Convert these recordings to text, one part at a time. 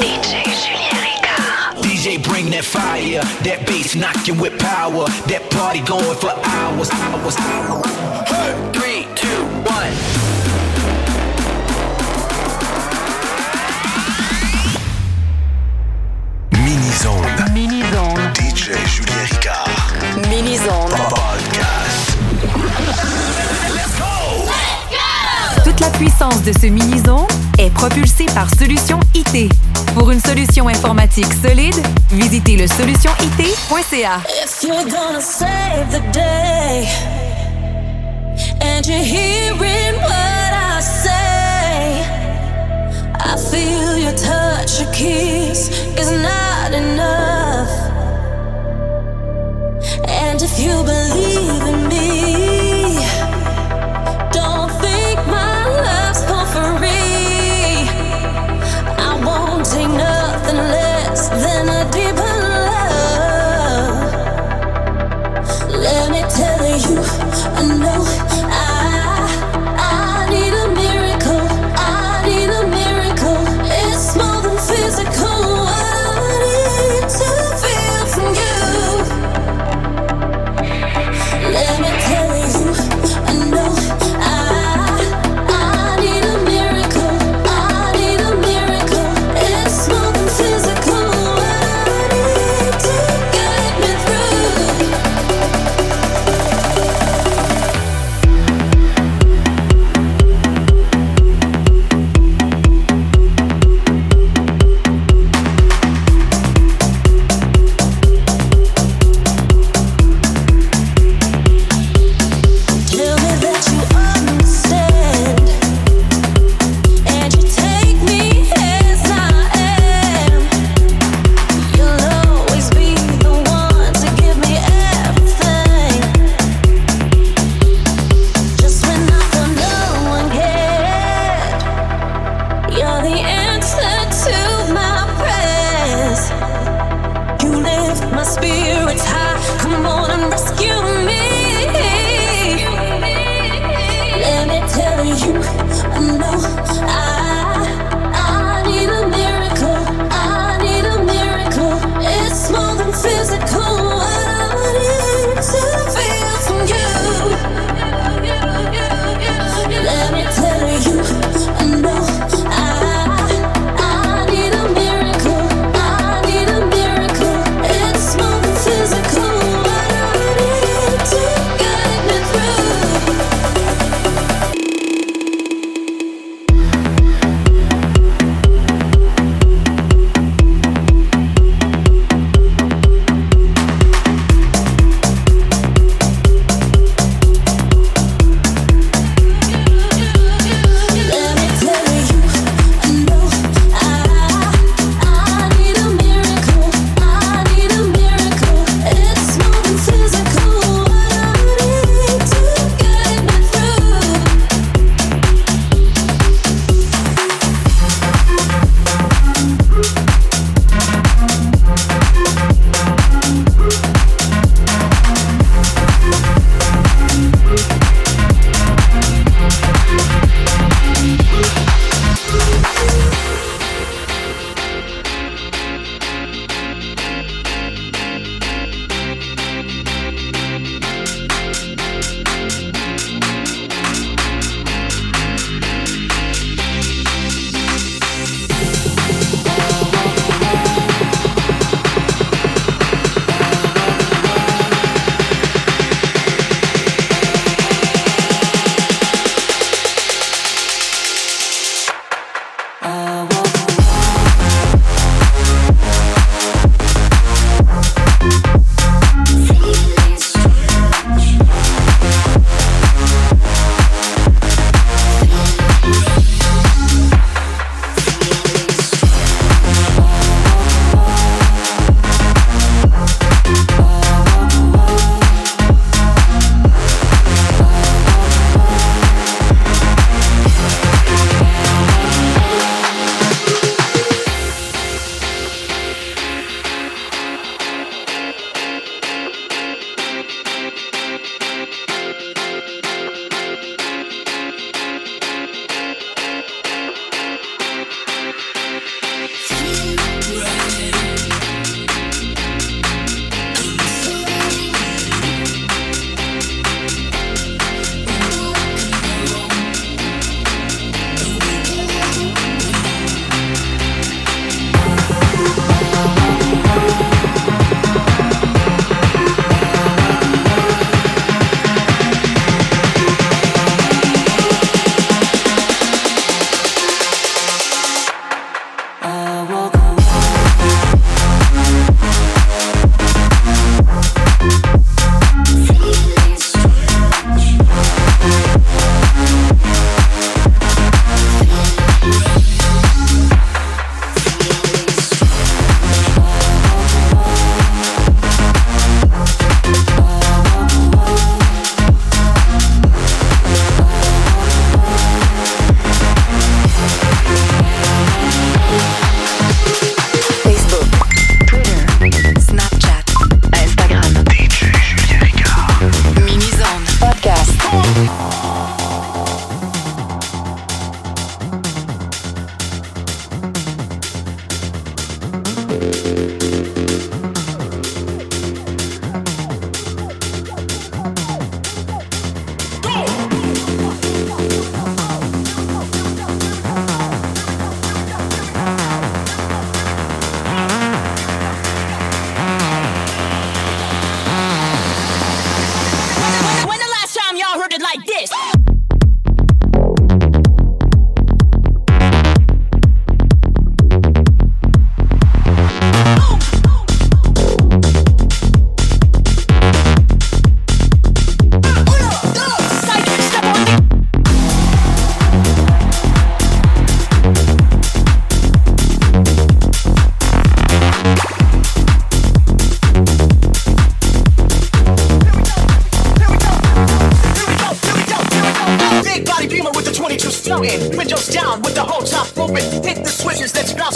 DJ Julien Ricard. DJ bring that fire, that bass knocking with power, that party going for hours. Hey. 3, 2, 1. Mini-zone. DJ Julien Ricard. Mini-zone. Podcast. Let's go! Toute la puissance de ce mini-zone est propulsée par Solution IT. Pour une solution informatique solide, visitez le solutionit.ca. If you're gonna save the day and you're hearing what I say, I feel your touch, your kiss is not enough. And if you believe in me, don't think my love's for free. I won't take nothing less than a deeper love. Let me tell you, I know I need a miracle. I need a miracle. It's more than physical.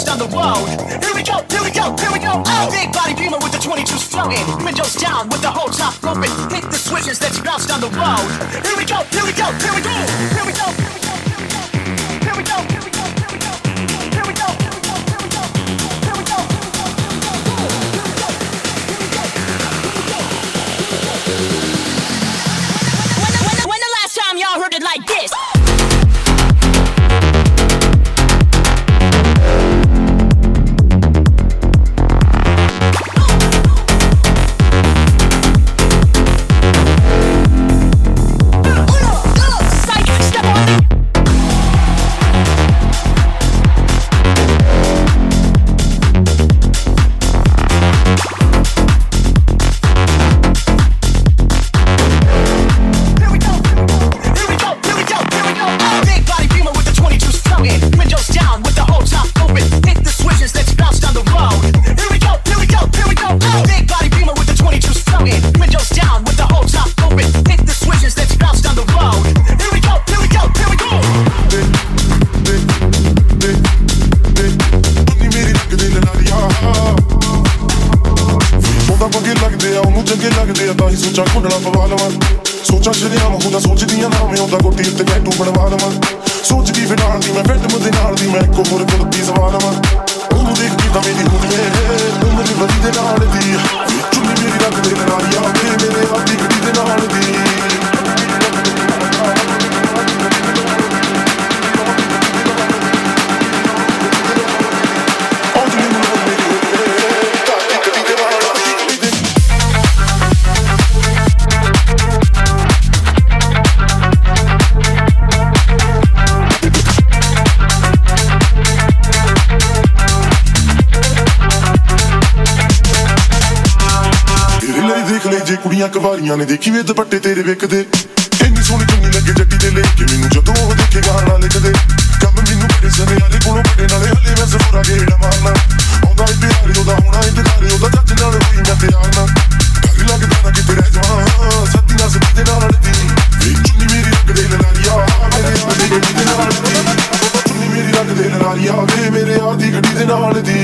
down the road. Here we go, here we go, here we go. Oh. Big body Beamer with the 22s floating. Windows down with the whole top open. Hit the switches, let's bounce down the road. Here we go, here we go, here we go. Here we go, here we go, here we go. Here we go, here we go, here we go. Here we go, here we go, here we go. When the last time y'all heard it like this? ਸੋਚਾਂ ਸ਼ਰਿਆਮ ਹੁੰਦਾ ਸੋਚਦੀਆਂ ਨਾ ਮੈਂ ਉਹਦਾ ਗੋਟੀ ਉੱਤੇ ਟੈਟੂ ਬਣਵਾ ਲਵਾਂ ਸੋਚ ਕੀ ਫਿਨਾਲ ਦੀ ਮੈਂ ਫਿੱਟ ਮੁੱਦੇ ਨਾਲ ਦੀ ਮੈਂ ਇੱਕੋ ਹੋਰ ਕੁਲਤੀ ਸਵਾ ਲਵਾਂ ਉਹਨੂੰ ਦੇਖ ਕੇ ਤਾਂ ਮੇਰੀ ਹੁੰਦੀ ਏ ਉਮਰ ਦੀ ਵਰੀ ਦੇ ਨਾਲ ਦੀ ਚੁੰਨੀ ਮੇਰੀ ਰੱਖ ਦੇ ਨਾਲੀਆਂ ਮੇਰੇ ਆਪ ਦੀ ਗੱਡੀ ਦੇ ਨਾਲ ਦੀ ਜੇ ਕੁੜੀਆਂ ਕਵਾਰੀਆਂ ਨੇ ਦੇਖੀ ਵੇ ਦੁਪੱਟੇ ਤੇਰੇ ਵੇਖਦੇ ਇੰਨੀ ਸੋਹਣੀ ਚੁੰਨੀ ਲੱਗੇ ਜੱਟੀ ਦੇ ਲੈ ਕੇ ਮੈਨੂੰ ਜਦੋਂ ਉਹ ਦੇਖੇ ਗਾਣਾ ਲਿਖਦੇ ਕੰਮ ਮੈਨੂੰ ਬੜੇ ਸਨਿਆਰੇ ਕੋਲੋਂ ਬੜੇ ਨਾਲੇ ਹਲੇ ਮੈਂ ਜ਼ਰੂਰਾ ਗੇੜਾ ਮਾਰਨਾ ਆਉਂਦਾ ਏ ਪਿਆਰੇ ਉਹਦਾ ਹੋਣਾ ਇੰਤਜ਼ਾਰੇ ਉਹਦਾ ਜੱਜ ਨਾਲ ਹੋਈ ਮੈਂ ਤਿਆਰ ਨਾ ਡਰ ਲੱਗਦਾ ਨਾ ਕਿਤੇ ਰਹਿ ਜਾਵਾਂ ਸੱਤੀ ਨਾਲ ਸੱਤੀ ਦੇ ਨਾਲ ਦੀ ਚੁੰਨੀ ਮੇਰੀ ਰੱਖ ਦੇ ਲਲਾਰੀਆ ਮੇਰੇ ਯਾਰ ਦੀ ਗੱਡੀ ਦੇ ਨਾਲ ਦੀ ਚੁੰਨੀ ਮੇਰੀ ਰੱਖ ਦੇ ਲਲਾਰੀਆ ਮੇਰੇ ਯਾਰ ਦੀ ਗੱਡੀ ਦੇ ਨਾਲ ਦੀ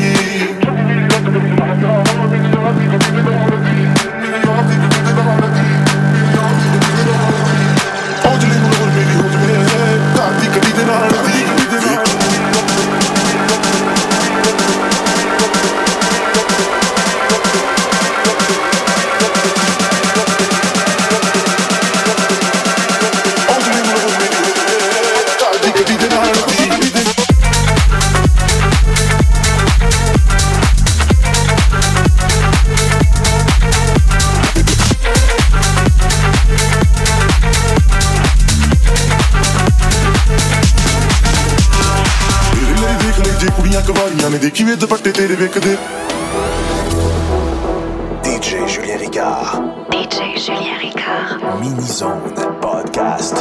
ਦੇਖੀ ਵੇ ਦੁਪੱਟੇ ਤੇਰੇ ਵੇਖਦੇ DJ Julien Ricard. DJ Julien Ricard. Mini Zone Podcast.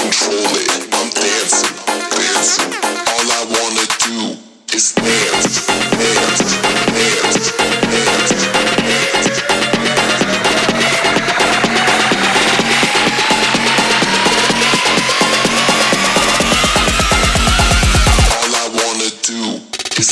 control it. I'm dancing, dancing. All I wanna do is dance, dance, dance, dance, dance. All I wanna do is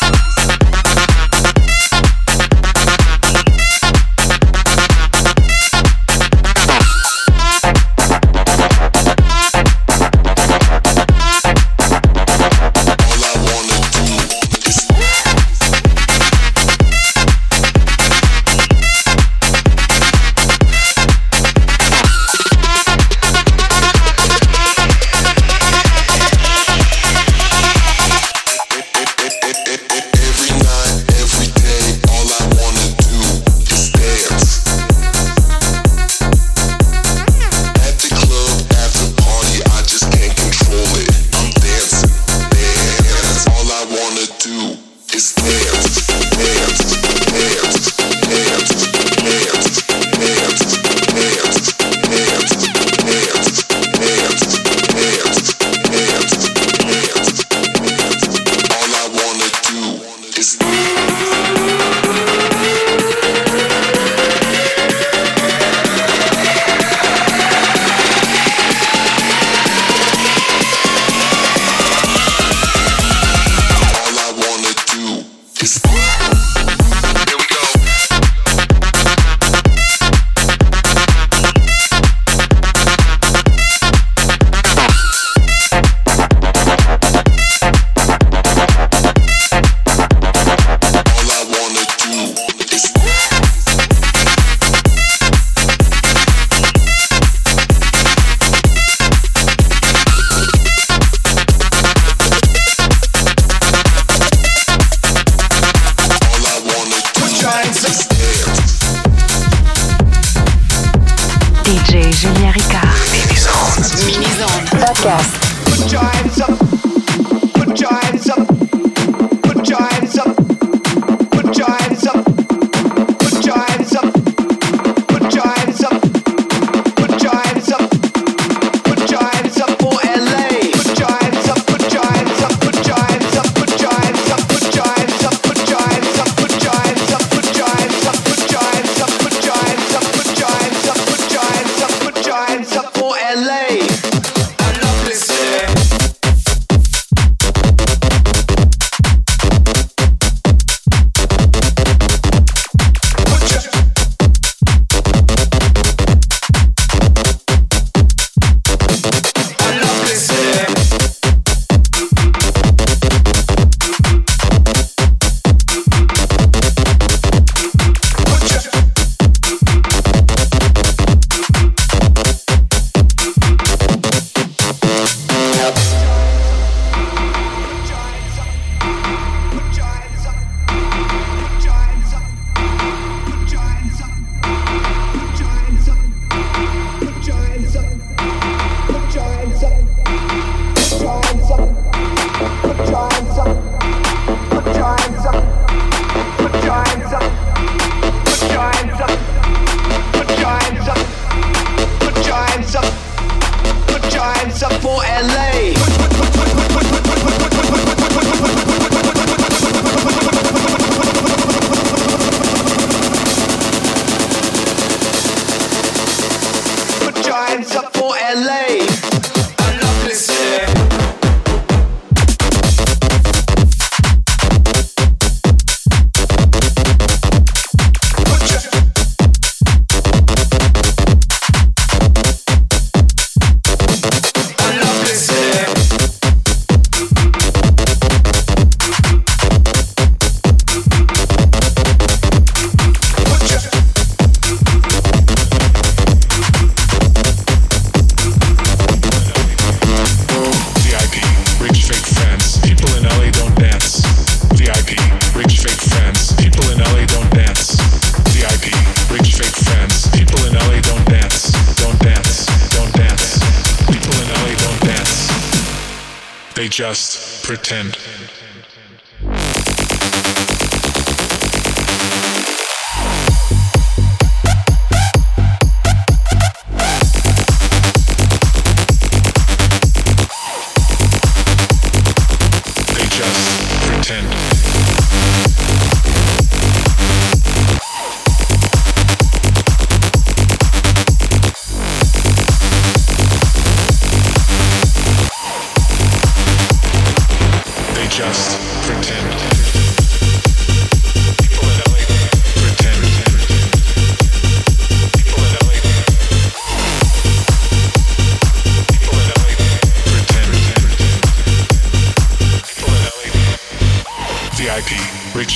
They just pretend.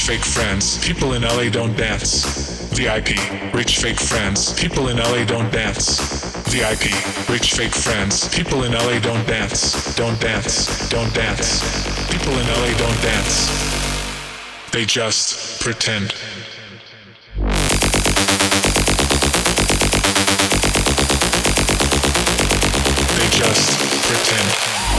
fake friends. People in LA don't dance. VIP, rich fake friends. People in LA don't dance. VIP, rich fake friends. People in LA don't dance. Don't dance. Don't dance. People in LA don't dance. They just pretend. They just pretend.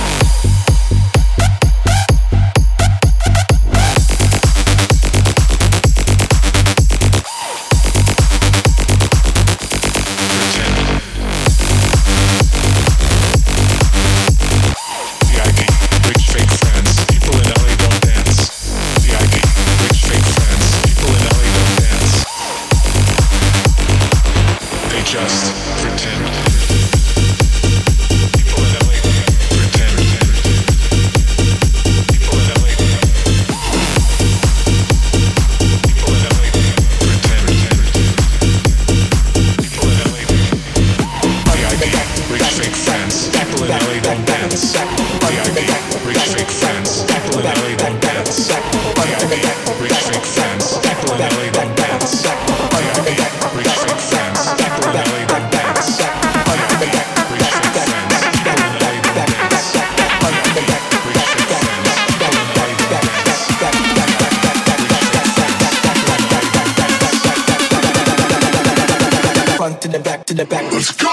To the back. Let's go!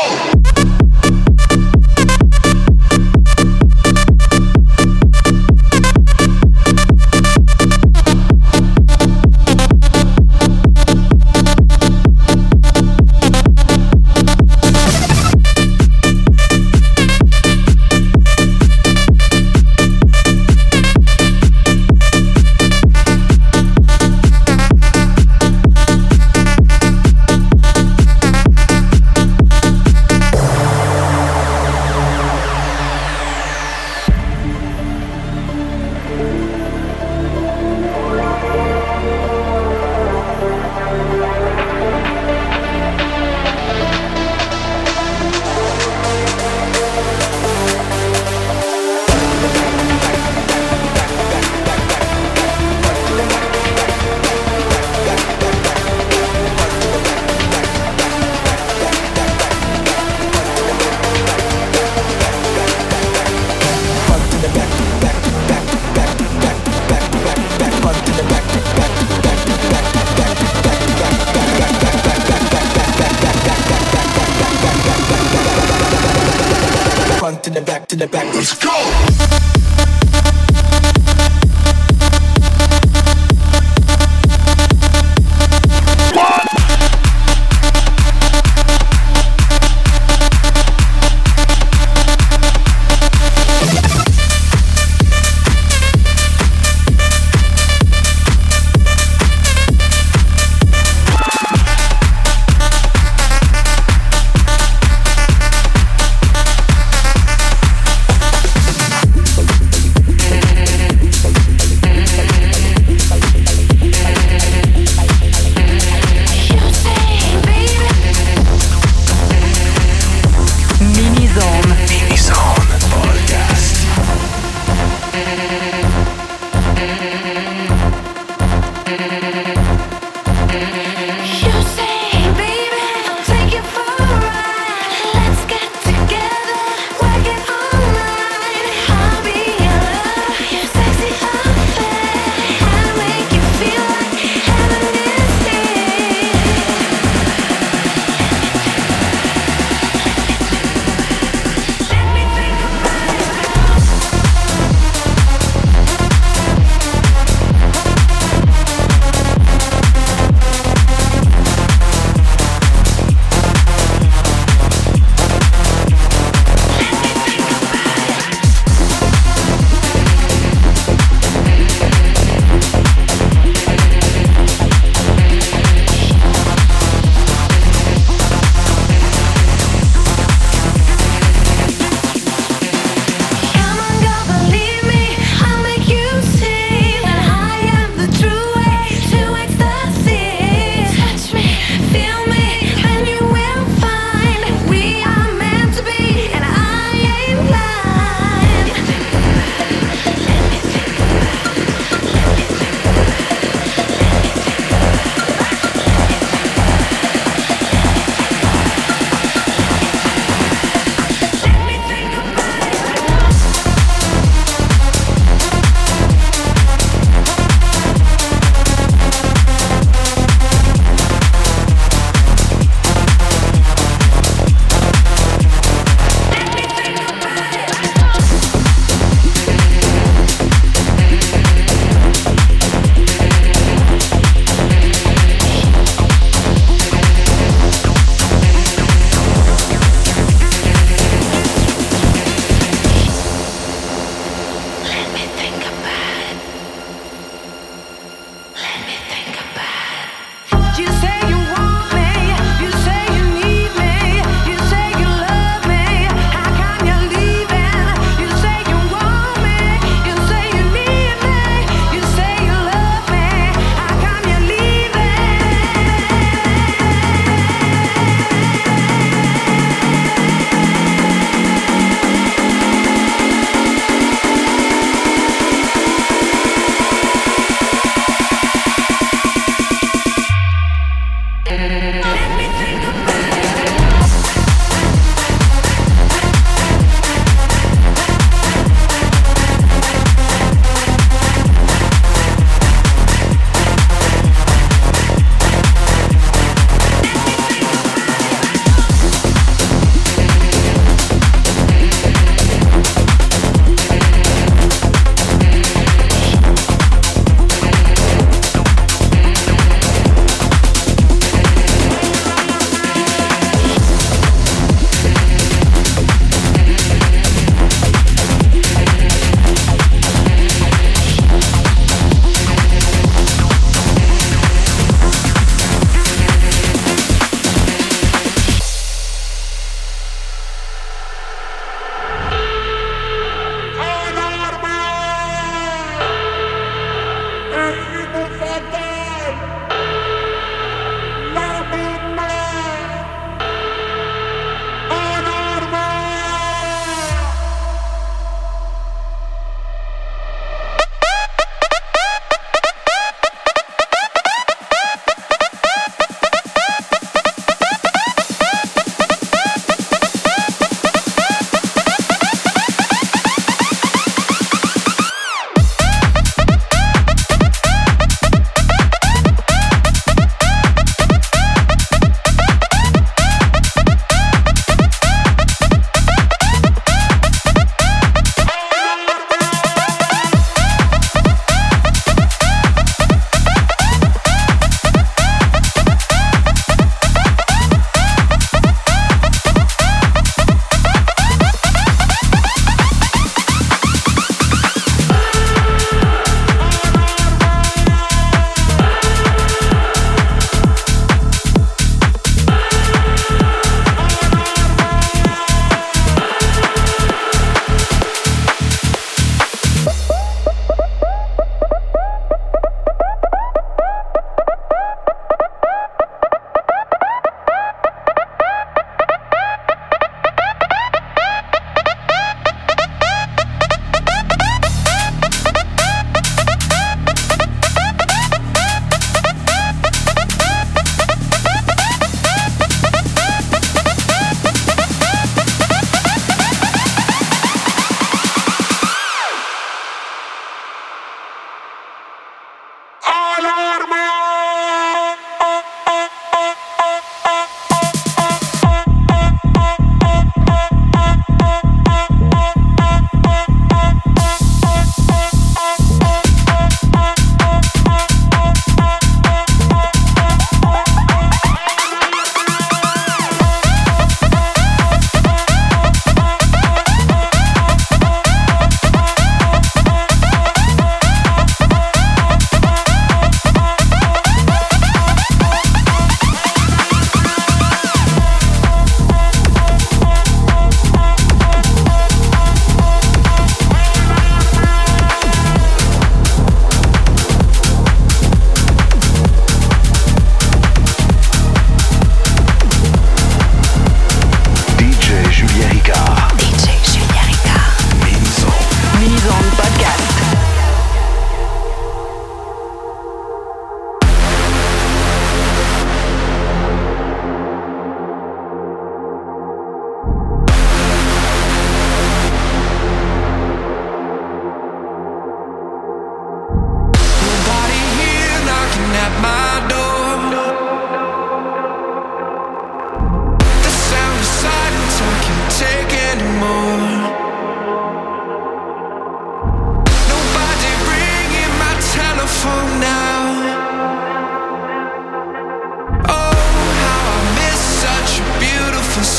To the back, let's go!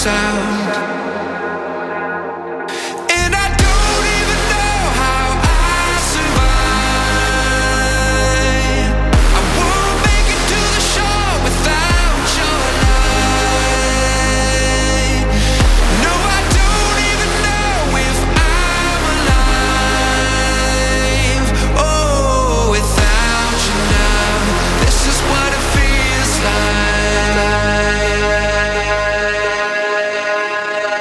sound. And I don't even know how I survive. I won't make it to the shore without your light. No, I don't even know if I'm alive. Oh, without you now, this is what it feels like.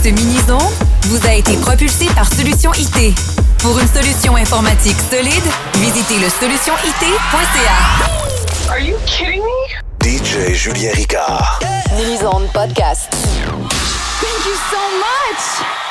Ce mini-zone vous a été propulsé par Solution IT. Pour une solution informatique solide, visitez le solutionit.ca. Are you kidding me? DJ Julien Ricard. Mini-zone podcast. Thank you so much!